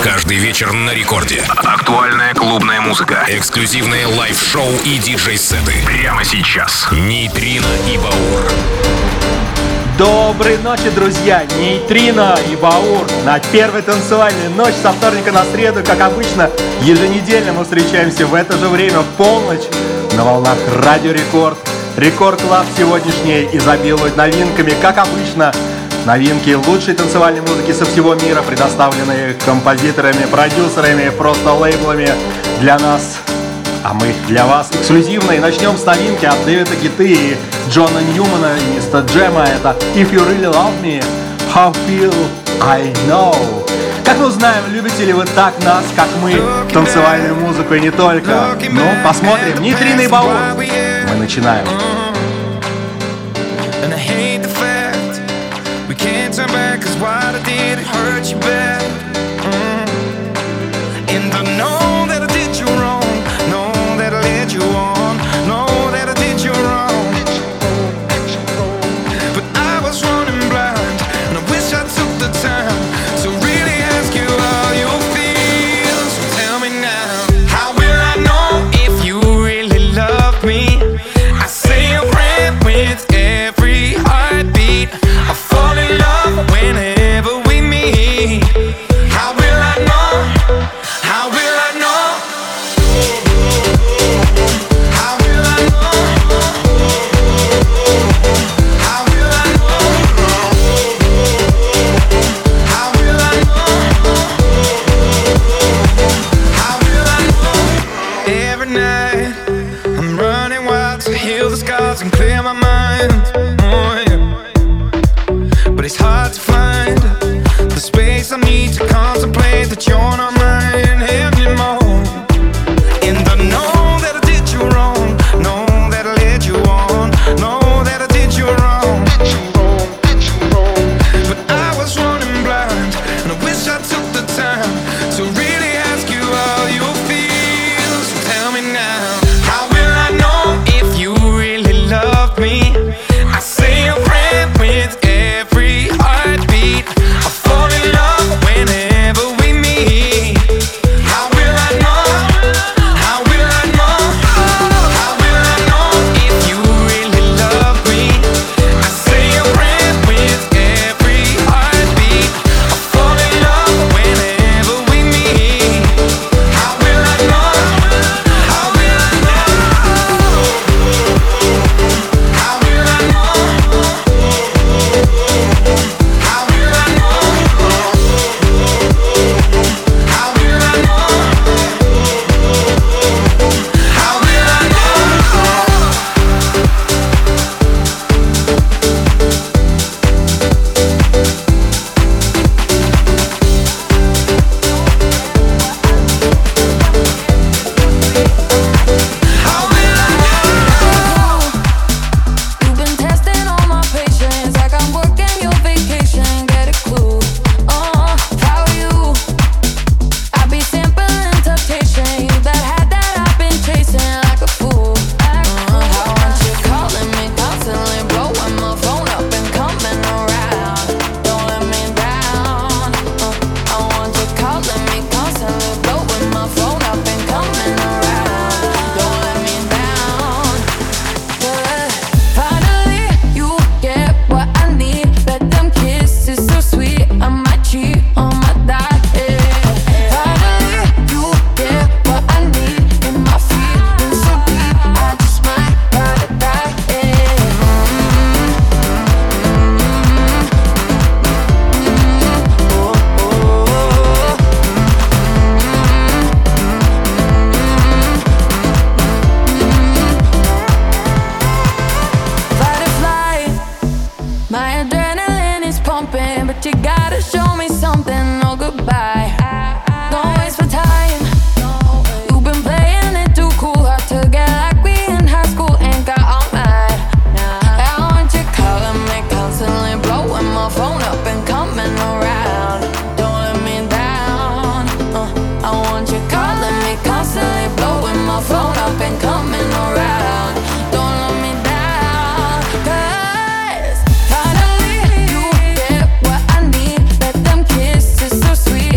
Каждый вечер на рекорде. Актуальная клубная музыка. Эксклюзивные лайв-шоу и диджей-сеты. Прямо сейчас. Нейтрино и Баур. Доброй ночи, друзья! Нейтрино и Баур на первой танцевальной ночь со вторника на среду, как обычно, еженедельно мы встречаемся в это же время в полночь на волнах Радио Рекорд. Рекорд Клаб сегодняшний изобилует новинками, как обычно. Новинки лучшей танцевальной музыки со всего мира, предоставленные композиторами, продюсерами, просто лейблами для нас. А мы для вас эксклюзивно. И начнем с новинки от Дэвида Гетты и Джона Ньюмана и Мистер Джема. Это If You Really Love Me, How Feel I Know. Как мы узнаем, любите ли вы так нас, как мы, танцевальную музыку и не только. Ну, посмотрим. Нейтрино и Баур. Мы начинаем. Turn back, 'cause what I did, it hurt you bad. And I know that I did you wrong, know that I led you on, know that I did you wrong. But I was running blind, and I wish I took the time to really ask you how you feel. So tell me now, how will I know if you really love me? I say a prayer with every heartbeat. I fall in love whenever we meet. How will I know? How will I know? How will I know? How will I know? How will I know? How will I know? Every night I'm running wild to heal the scars and clear my mind. Oh, yeah. But it's hard to find the space I need to contemplate that you're not mine anymore. And I know that I did you wrong, know that I led you on, know that I did you wrong. But I was running blind, and I wish I took the time to really ask you how you feel. So tell me now, how will I know if you really love me? I say a prayer with every heartbeat. I fall in love whenever we meet. How will I know? How will I know? How will I know if you really love me? I say a prayer with every heartbeat. I fall in love whenever we meet. How will I know? How will I know? How will I know? How will I know? How will I know? How will I know? How will I know? You've been testing all my patience, like I'm working your vacation. Get a clue, if I were you, I'd be sampling temptation. You that had that I've been chasing like a fool. I want you calling me constantly, blowing my phone up and coming around. Don't let me down. I want you calling me constantly, blowing my phone up and coming around. Don't let me down. Finally, you get what I need. Bet them kisses so sweet, I might cheat on my diet. Finally, you get what I need. And my feelings so deep, I just might ride or die. Fight or flight, my adrenaline is pumping, but you gotta show me something. No goodbye, don't waste my time. You've been playing it too cool, hard to get like we in high school. Ain't got all night. I want you calling me constantly, blowing my phone up and coming around. Don't let me down. I want you calling me constantly, blowing my phone up and coming around. Don't let me down, 'cause finally you get what I need. Bet them kisses so sweet,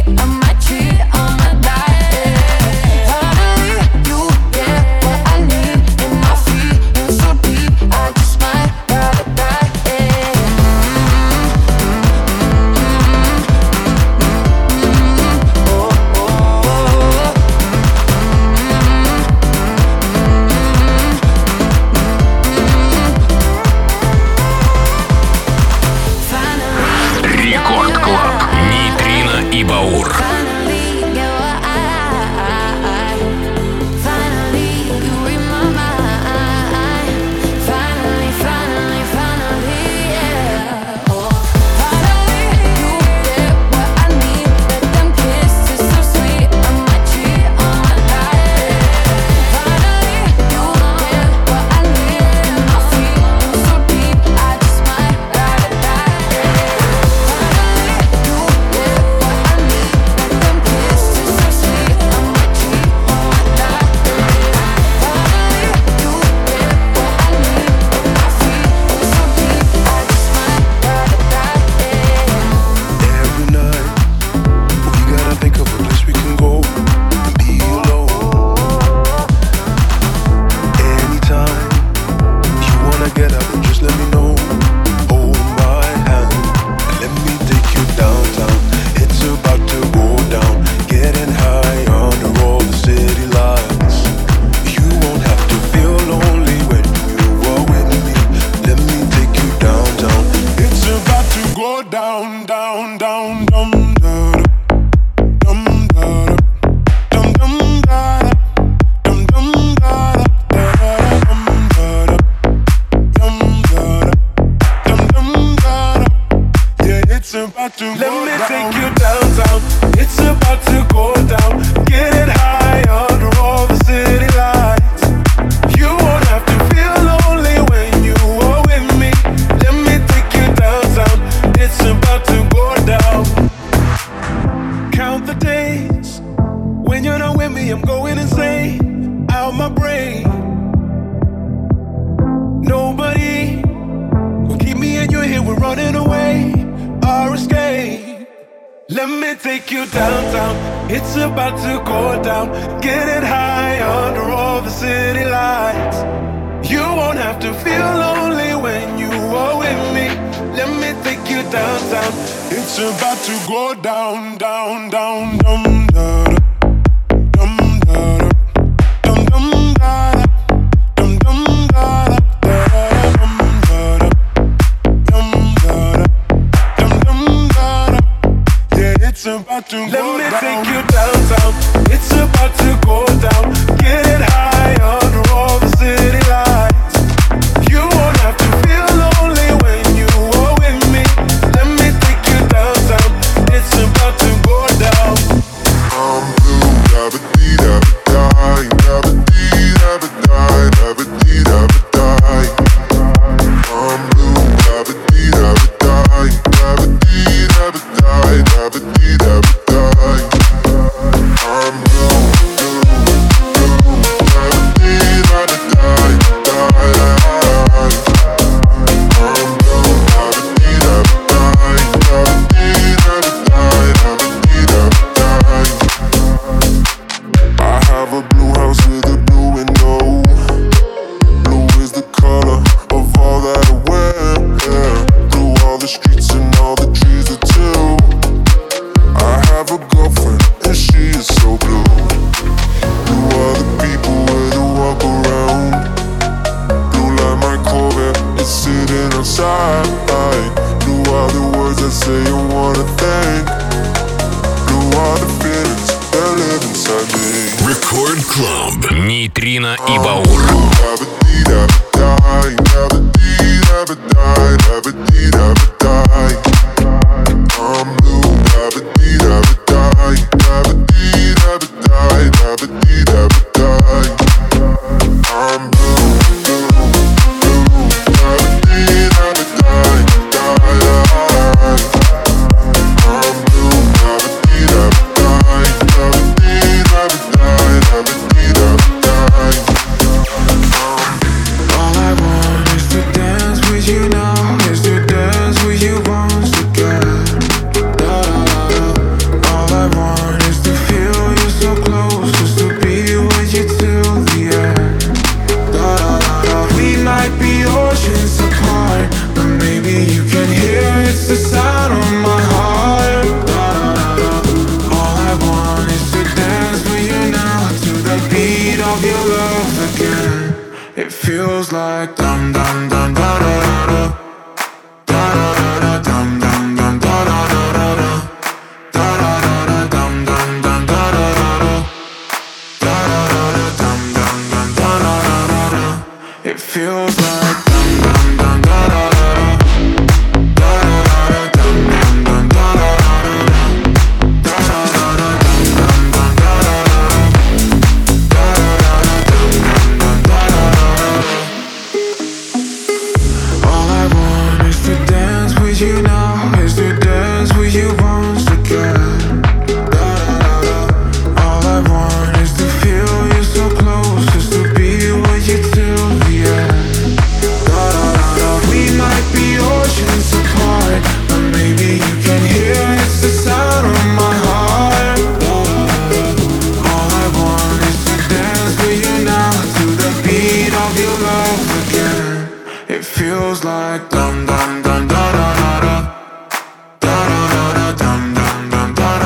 Like dum dum dum da da da da da da da dum dum dum da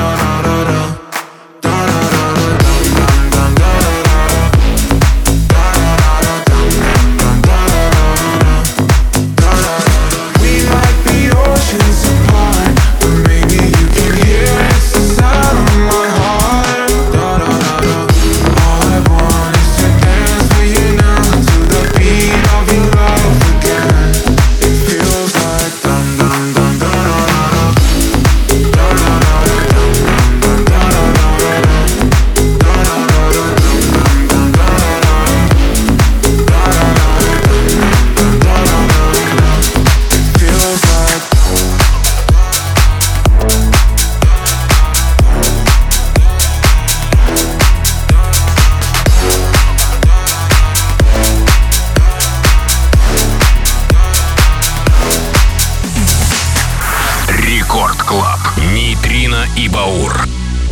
и Баур.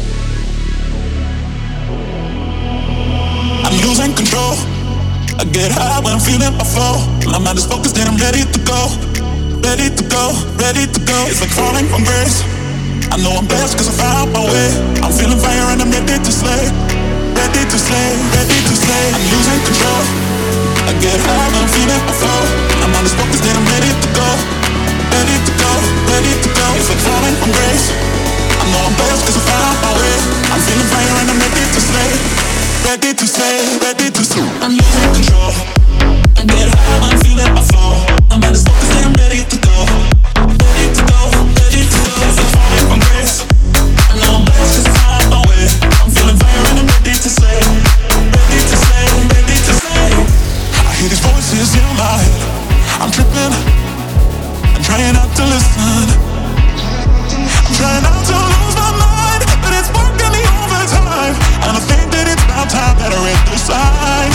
I'm losing control. I get high when I'm feeling my flow. My mind is focused and I'm ready to go. Ready to go, ready to go. It's like falling from grace. I know I'm blessed cause I found my way. I'm feeling fire and I'm ready to slay. Ready to slay, ready to slay. I'm losing control. I get high when I'm feeling my flow. My mind is focused and I'm ready to go. Ready to go, ready to go. It's like falling from grace. I know I'm blessed cause I found my way. I'm feeling fire and I'm ready to slay. Ready to slay, ready to slay. I'm losing control. I get high when I'm feeling my flow. My mind is focused and I'm ready to go. Ready to go, ready to go. It's like falling from grace. I know I'm blessed cause I found my way. I'm feeling fire and I'm ready to slay. Ready to slay, ready to slay. I hear these voices in my head. I'm tripping. I'm trying not to listen. I'm trying not to lose my mind, but it's working the overtime. And I think that it's about time that I read the signs.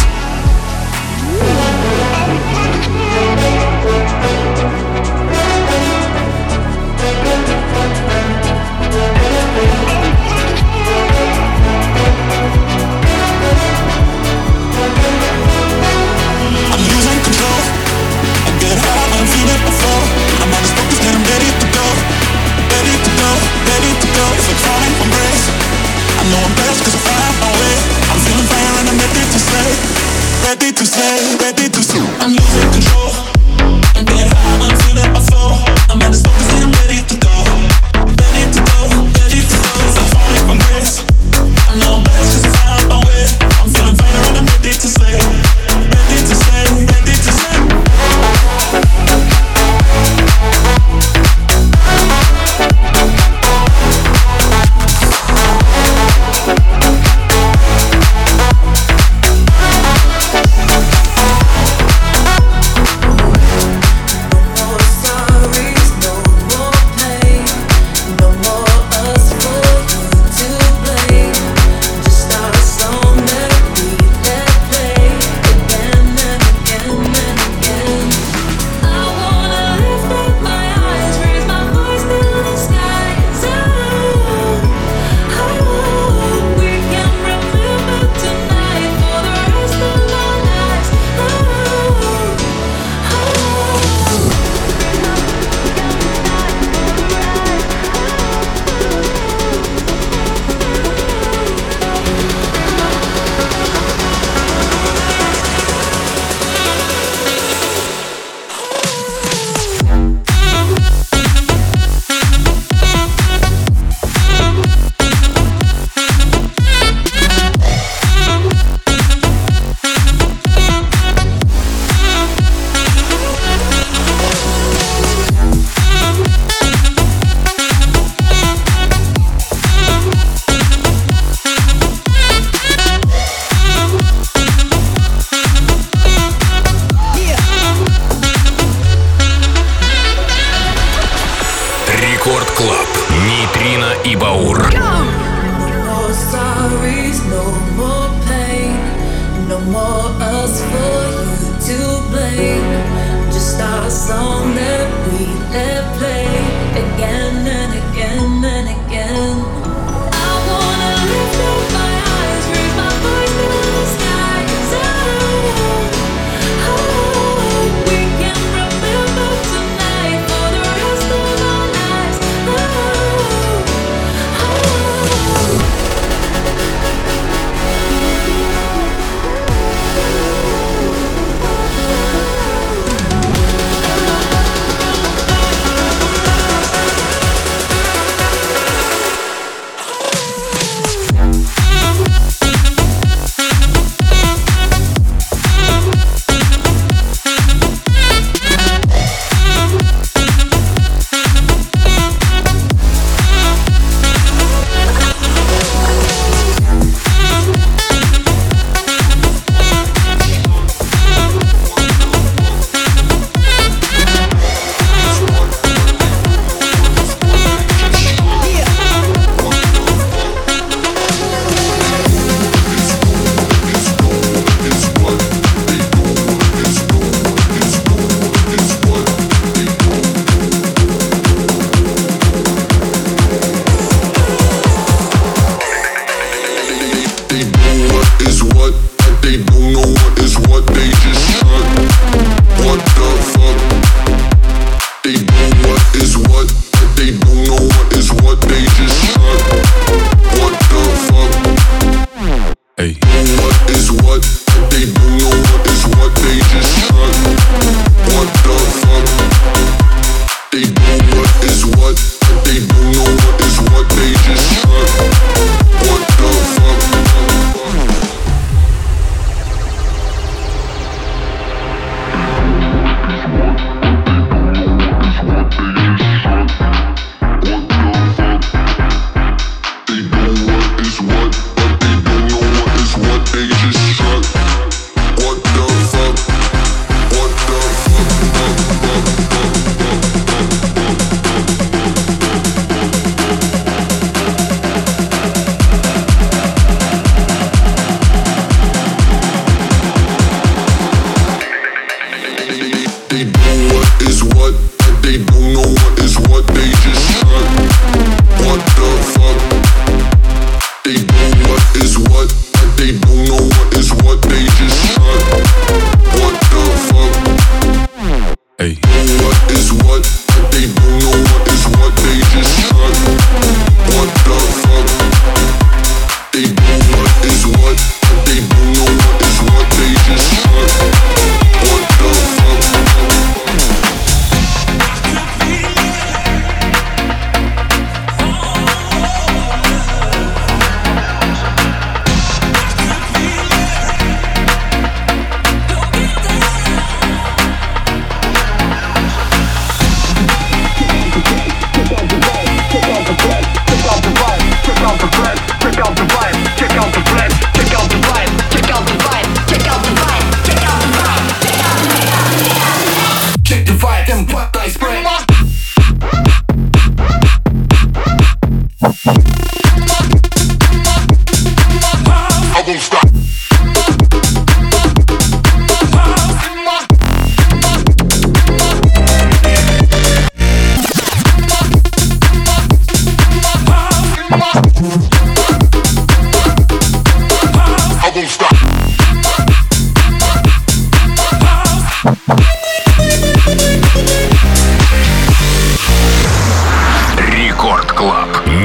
I'm losing control. I get high when I'm feeling my flow. I'm on this focus and I'm ready to go. Ready to go, ready to go. It's like falling from grace. I know I'm blessed cause I found my way. I'm feeling fire and I'm ready to slay. Ready to slay, ready to slay. I'm losing control. I get high when I'm feeling my flow. I'm on this focus and I'm ready to go. Ready to go, ready to go. It's like falling from grace. I know I'm blessed cause I found my way. I'm feeling fire and I'm ready to slay. Ready to slay, ready to slay.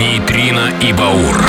Нейтрино и Баур.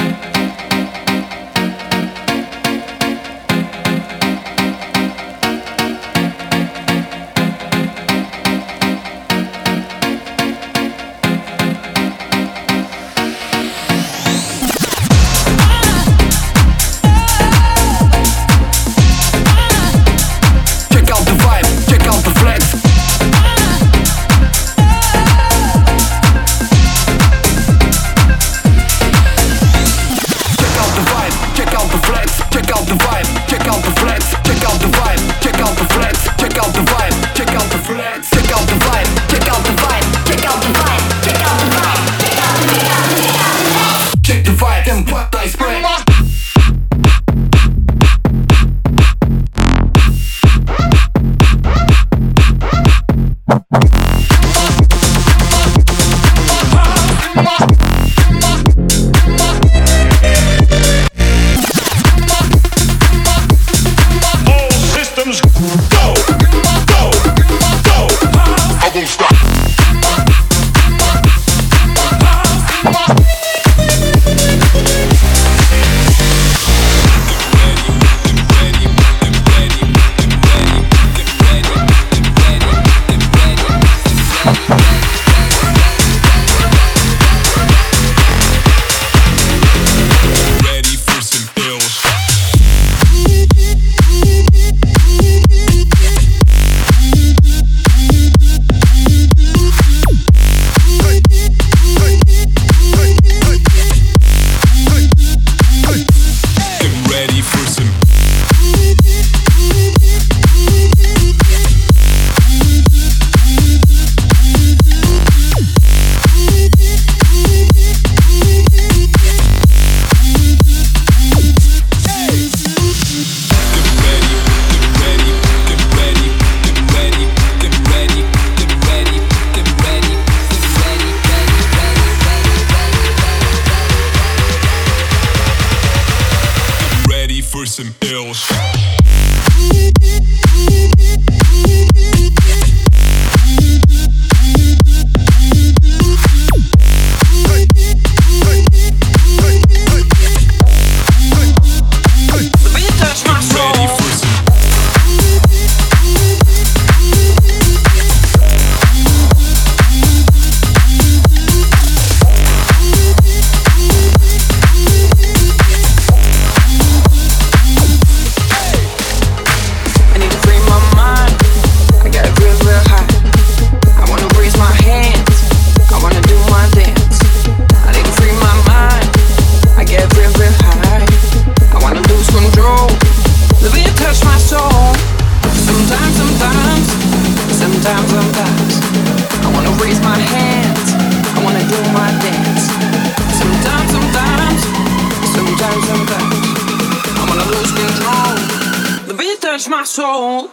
My soul.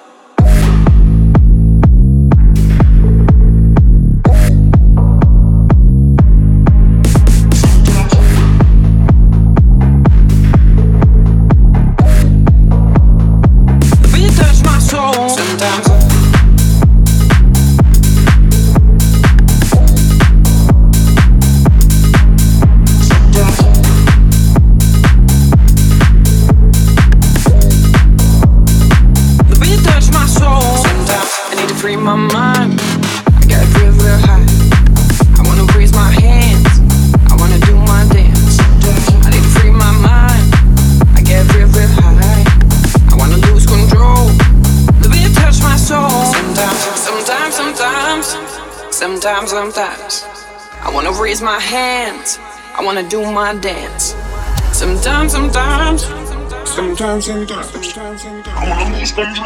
The beat touch my soul. Sometimes free my mind. I got real, real high. I wanna raise my hands. I wanna do my dance. I need to free my mind. I get real, real high. I wanna lose control. The beat touch my soul. Sometimes. I wanna raise my hands. I wanna do my dance. Sometimes. I wanna lose control.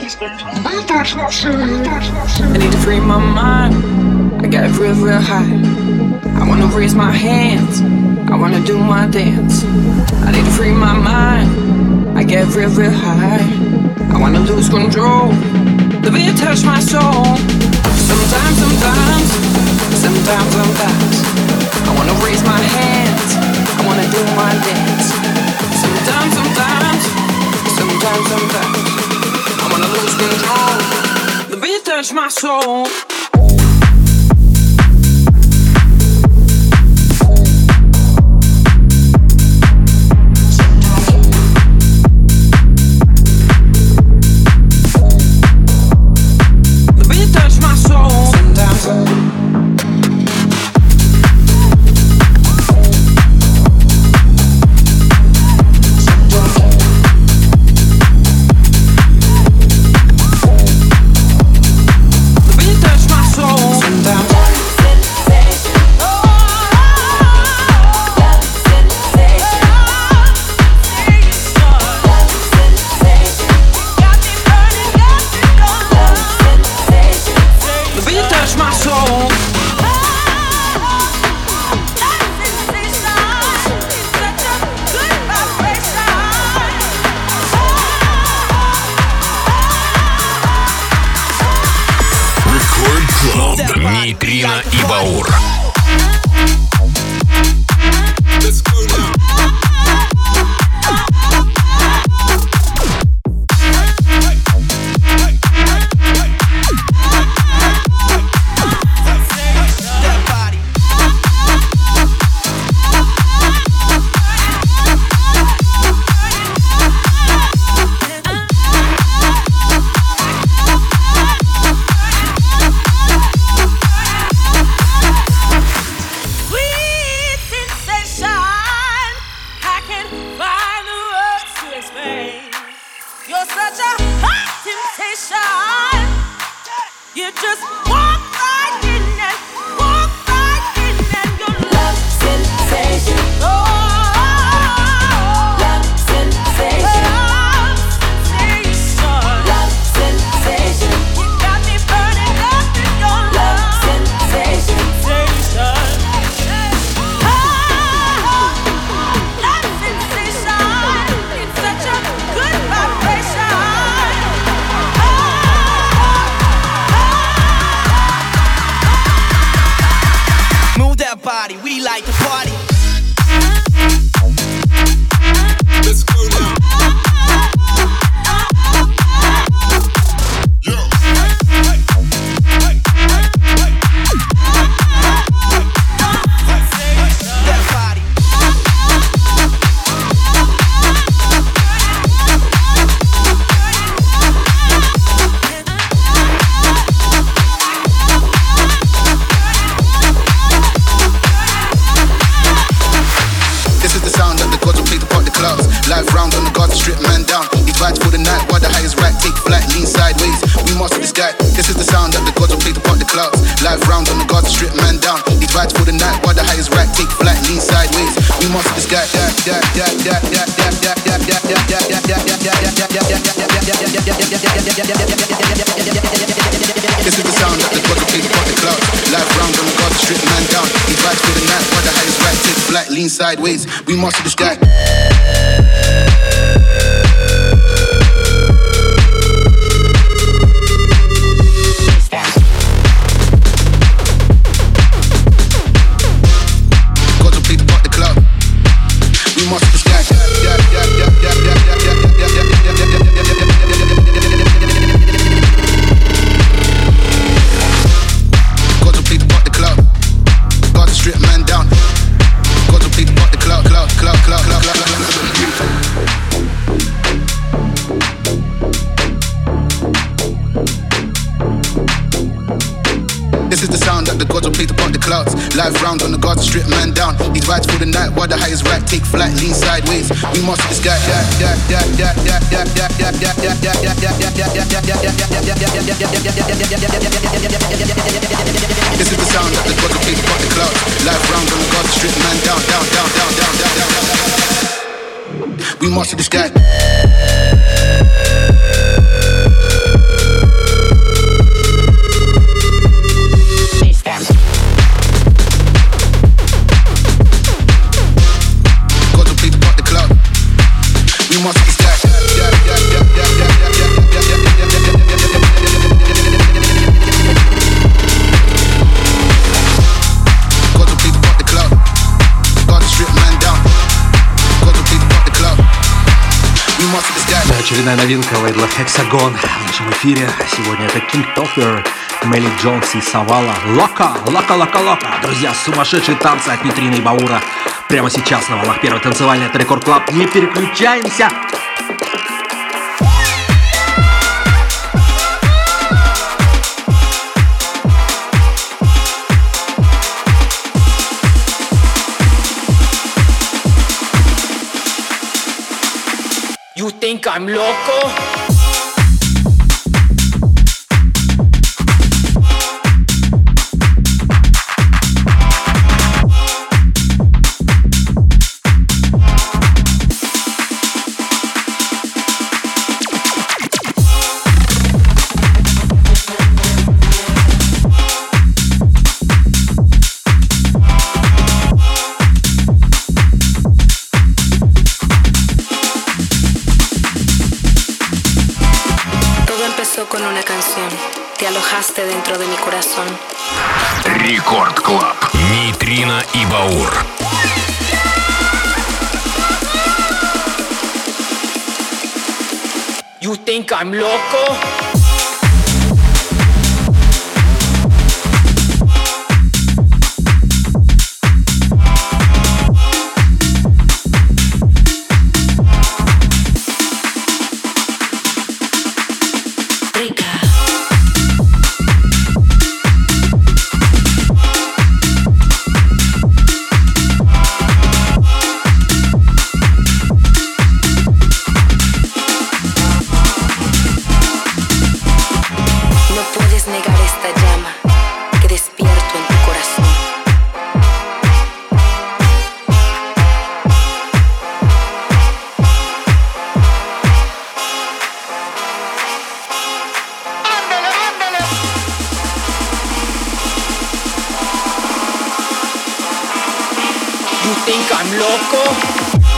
I need to free my mind. I got real, real high. I wanna raise my hands. I wanna do my dance. I need to free my mind. I get real, real high. I wanna lose control. The beat touch my soul. Sometimes. I wanna raise my hands. I wanna do my dance. Sometimes. I wanna lose control. The beat touch my soul. Нейтрино и Баур. Sideways, we master this guy. Live round on the guard to strip man down. These vibes for the night while the highest rack take flight, lean sideways. We master this guy. This is the sound that the gods will play to pop the clouds. Live round on the guard to strip man down, down, down, down, down, down, down. We master this guy. Очередная новинка лейбла Hexagon в нашем эфире. Сегодня это King Topher, Мелли Джонс и Савала. Лока. Друзья, сумасшедшие танцы от Нейтрино и Баура. Прямо сейчас на волнах первой танцевальной. Это Рекорд Клаб. Не переключаемся. You think I'm loco? Con una canción. te alojaste dentro de mi corazón. Рекорд Клаб. Нейтрино и Баур. You think I'm loco? You think I'm loco?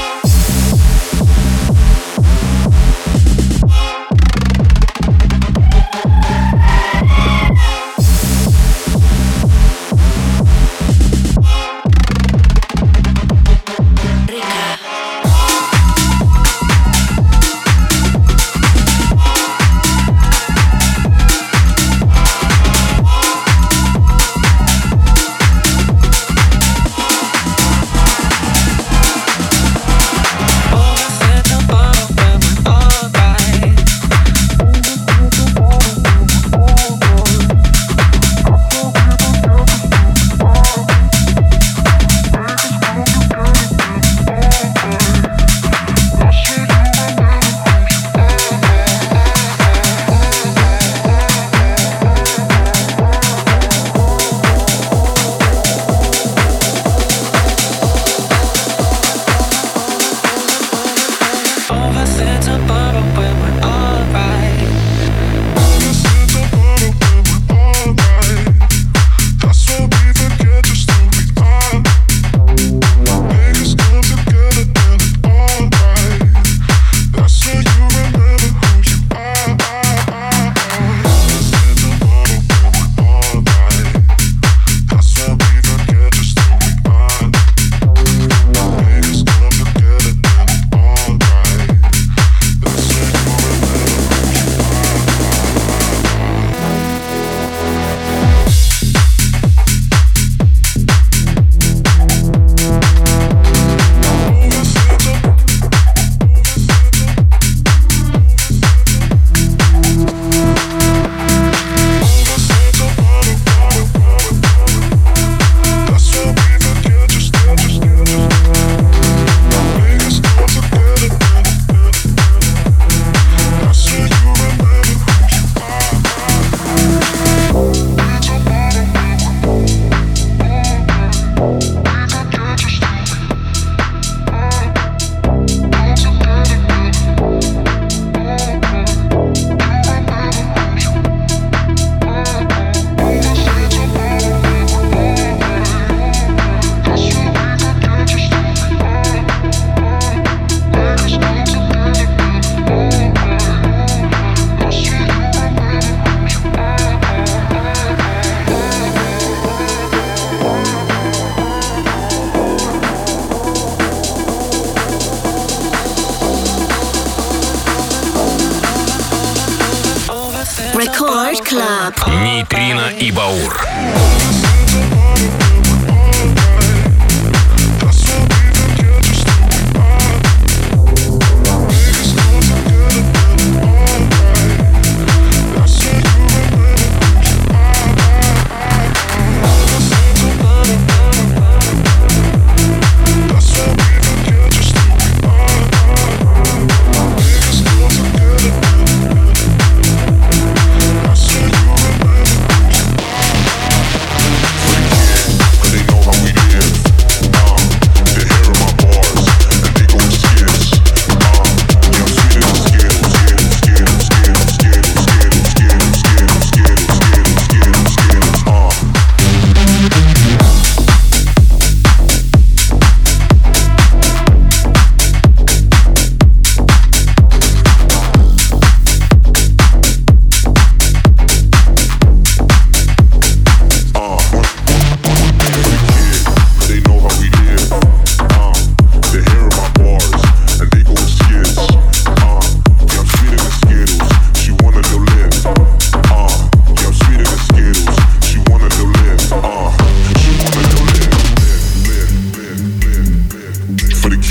Record Club. Нейтрино и Баур.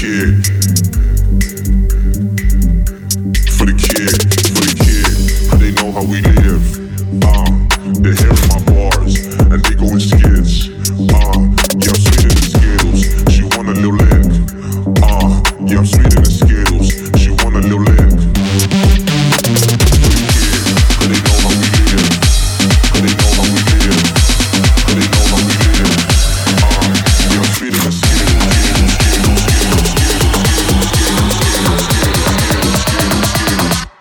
kid. For the kid, they know how we live. They're hearing my bars, and they go in skids. Yeah, I'm sweeter than Skittles, she want a little lick. Yeah, I'm sweeter than Skittles, she want a little lick. For the kid, they know how we live. They know how we live. They know how we live. Yeah, I'm sweeter than Skittles, Skittles, Skittles, Skittles, Skittles, Skittles, Skittles, Skittles, Skittles, Skittles.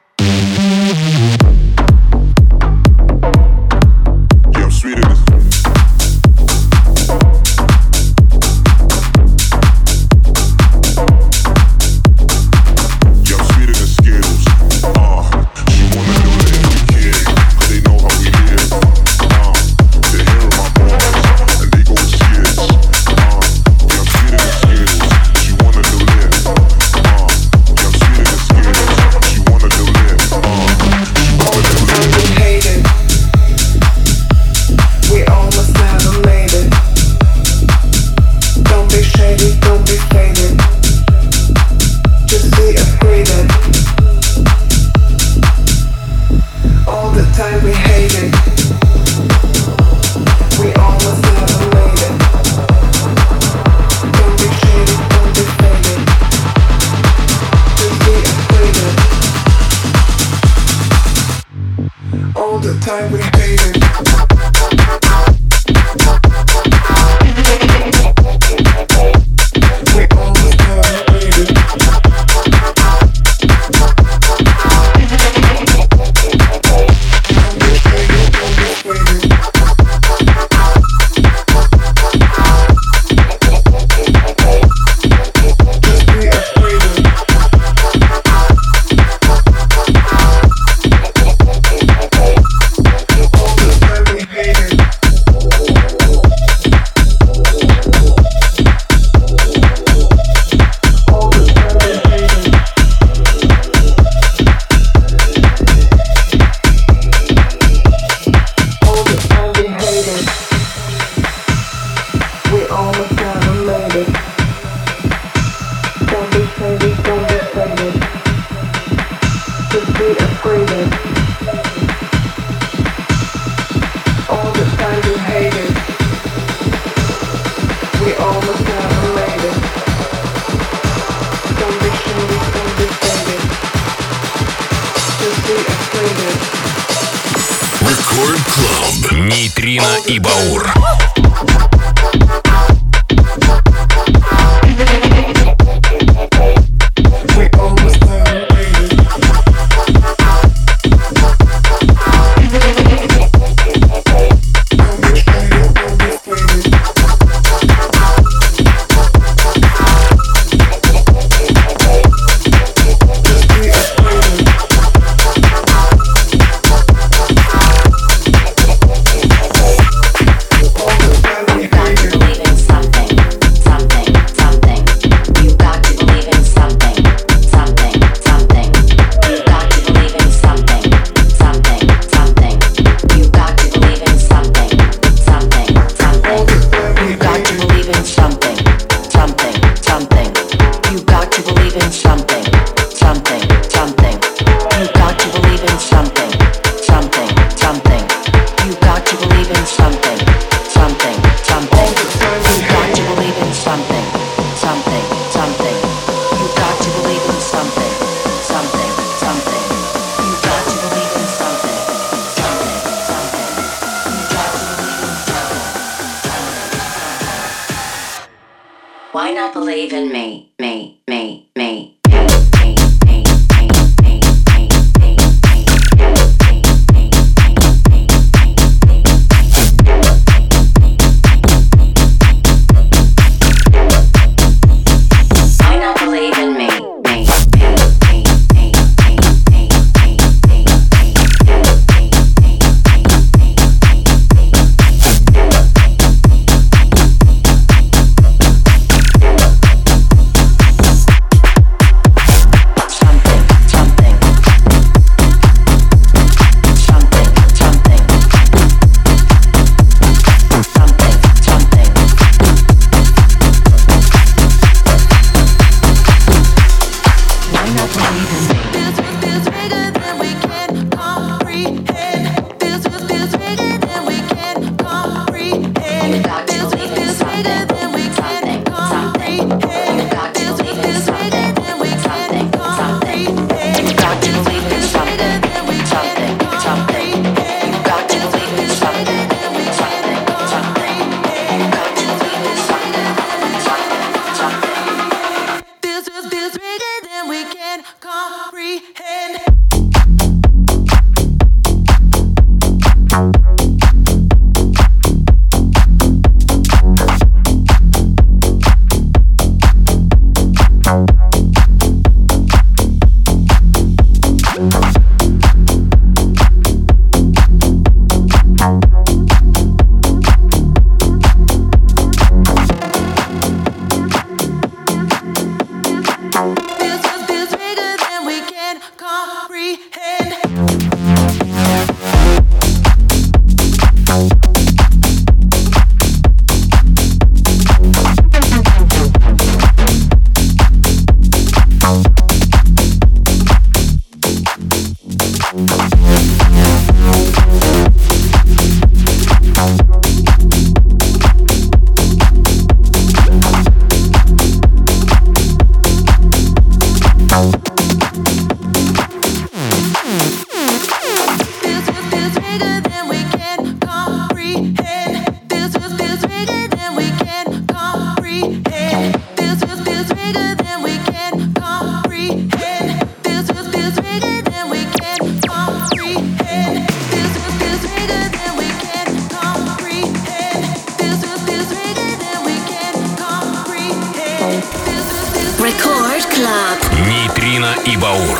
Нейтрино и Баур. Why not believe in me, me, me, me? Нейтрино и Баур.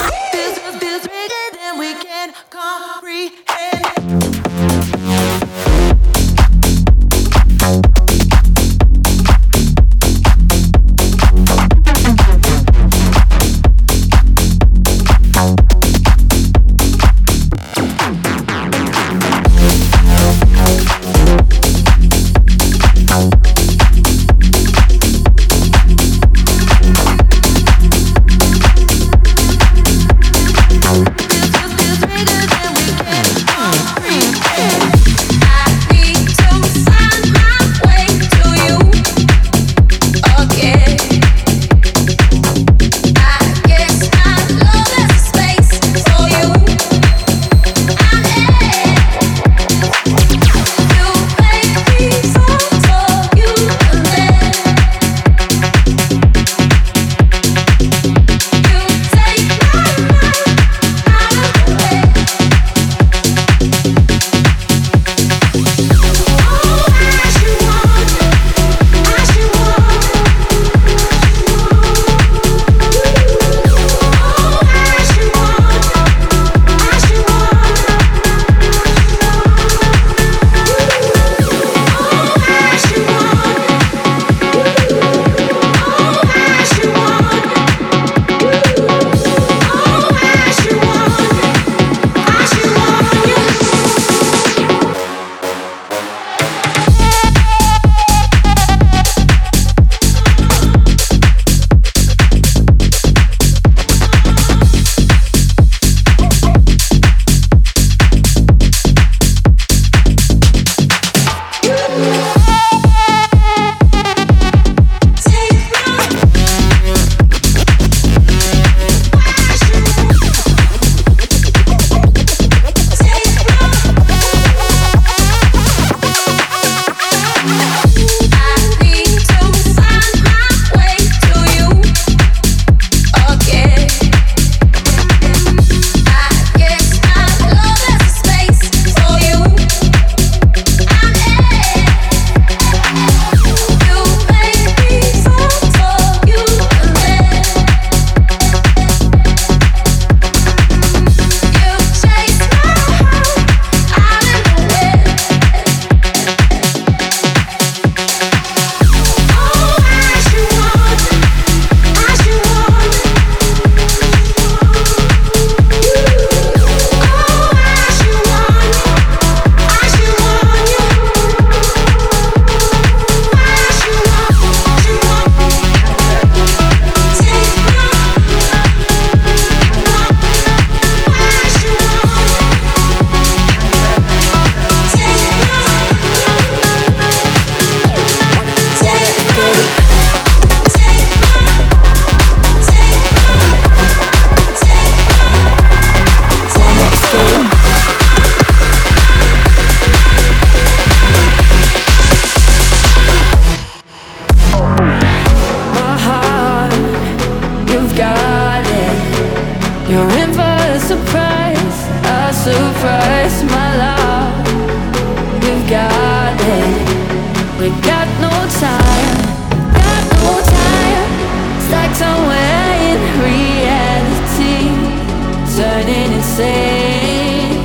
surprise, my love. We've got it. We got no time. Got no time. Stuck somewhere in reality, turning insane.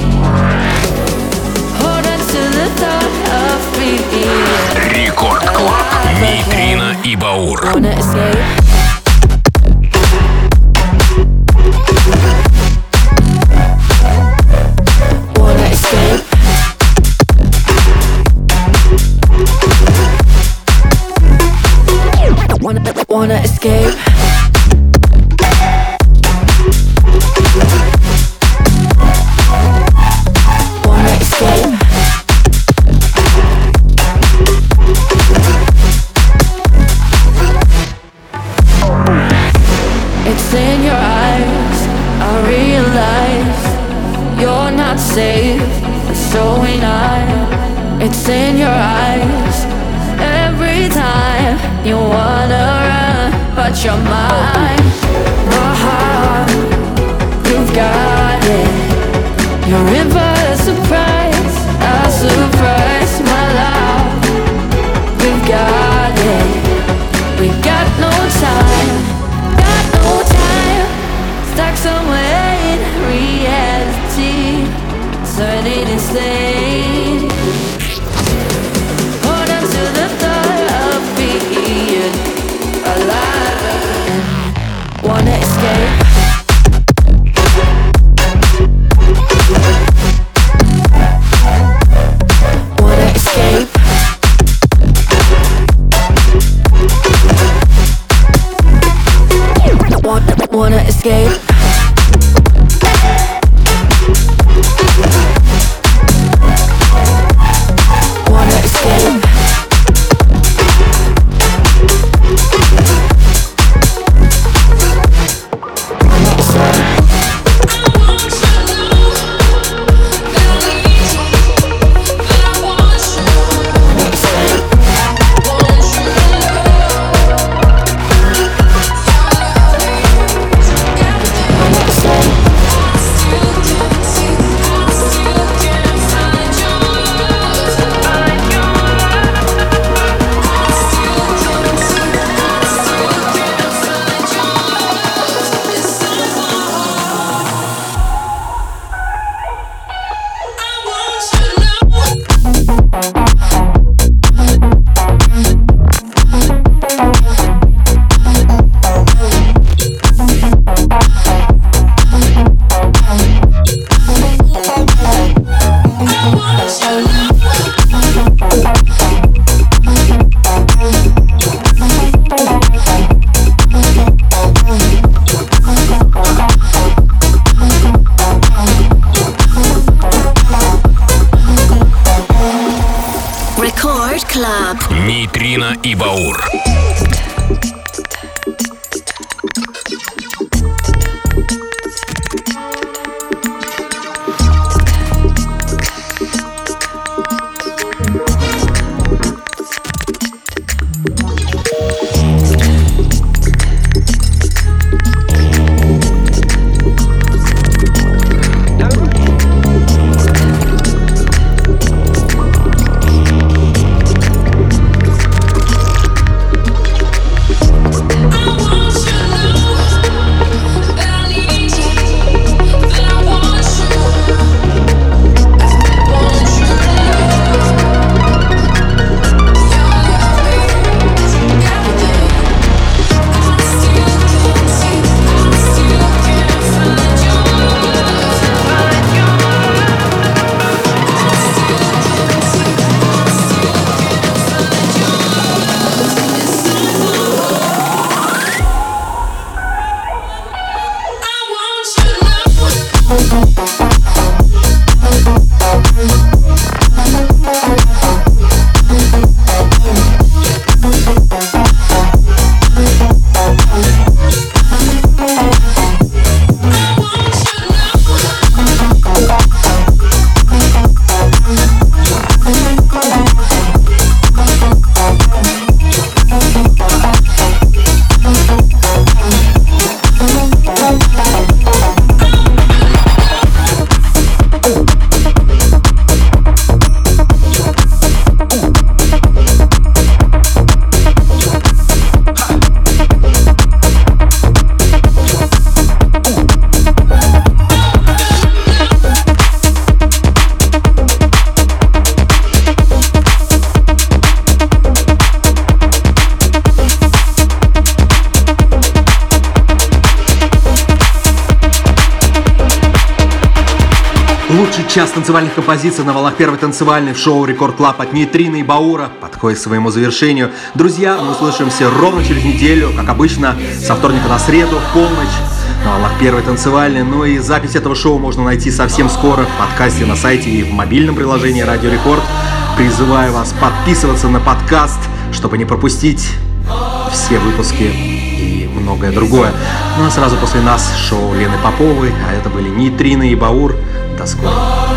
Hold on to the thought of being Рекорд Клаб. Нейтрино и Баур. Wanna escape? Wanna escape? Wanna escape? It's in your eyes, I realize you're not safe, so ain't I. It's in your eyes, every time you wanna run, but you're mine. My heart, you've got it. You're in for a surprise, my love. We've got it. We got no time, got no time. Stuck somewhere in reality, turning insane. Hold on to the thought of being alive. Wanna escape? Wanna escape? Wanna escape? Wanna escape? Нейтрино и Баур. Лучший час танцевальных композиций на волнах первой танцевальной в шоу Рекорд Клаб от Нейтрина и Баура подходит к своему завершению. Друзья, мы услышимся ровно через неделю, как обычно, со вторника на среду в полночь на волнах первой танцевальной. Ну и запись этого шоу можно найти совсем скоро в подкасте на сайте и в мобильном приложении Радио Рекорд. Призываю вас подписываться на подкаст, чтобы не пропустить все выпуски и многое другое. Ну а сразу после нас шоу Лены Поповой, а это были Нейтрина и Баур. До скорого.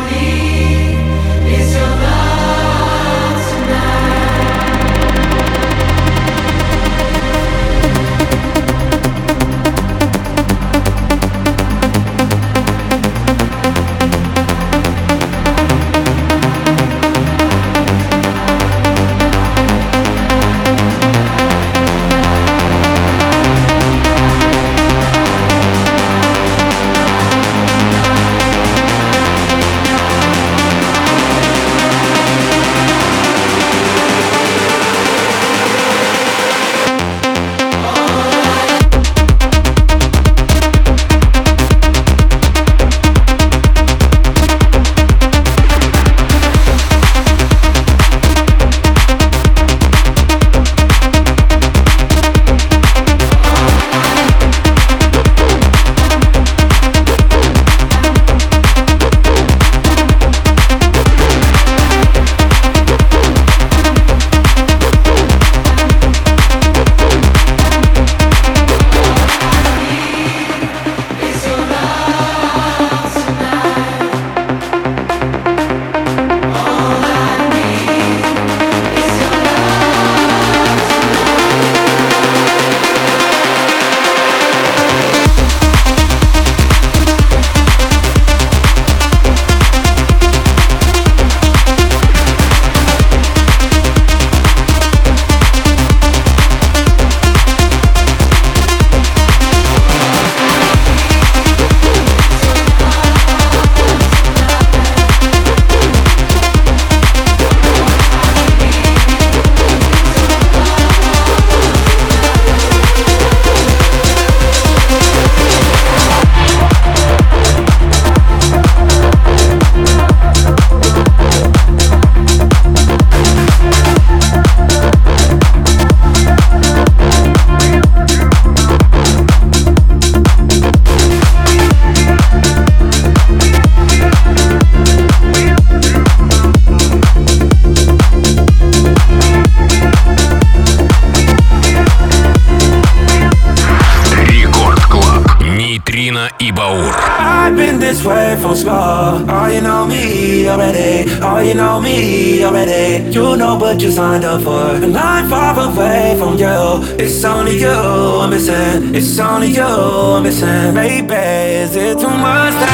и Баур. I've been this way from school. Oh, you know me already. Oh, you know me already. You know what you signed up for. And I'm far away from you. It's only you I'm missing. It's only you I'm missing. Baby, is it too much to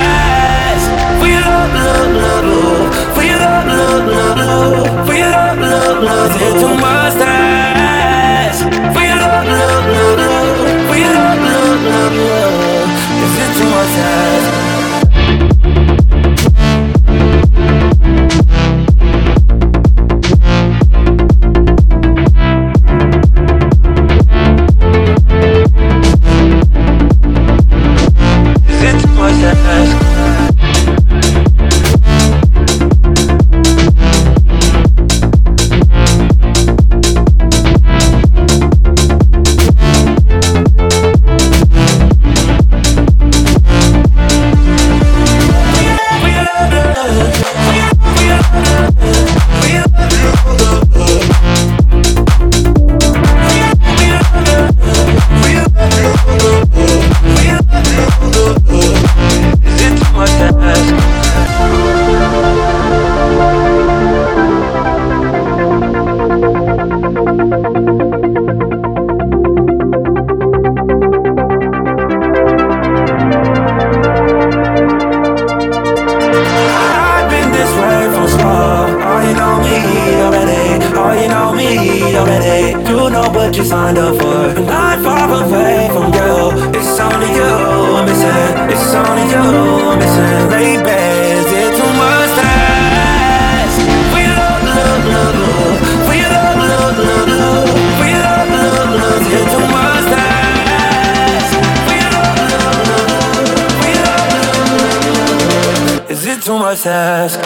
ask? For your love, love, love, love. For your love, love, love, love. For your love, love, love. Is it too much to ask? For your love, love, love, love. For your love, love, love, love. Is it too much to ask? must ask.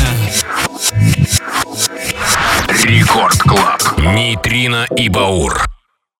Рекорд Клаб. Нейтрино и Баур.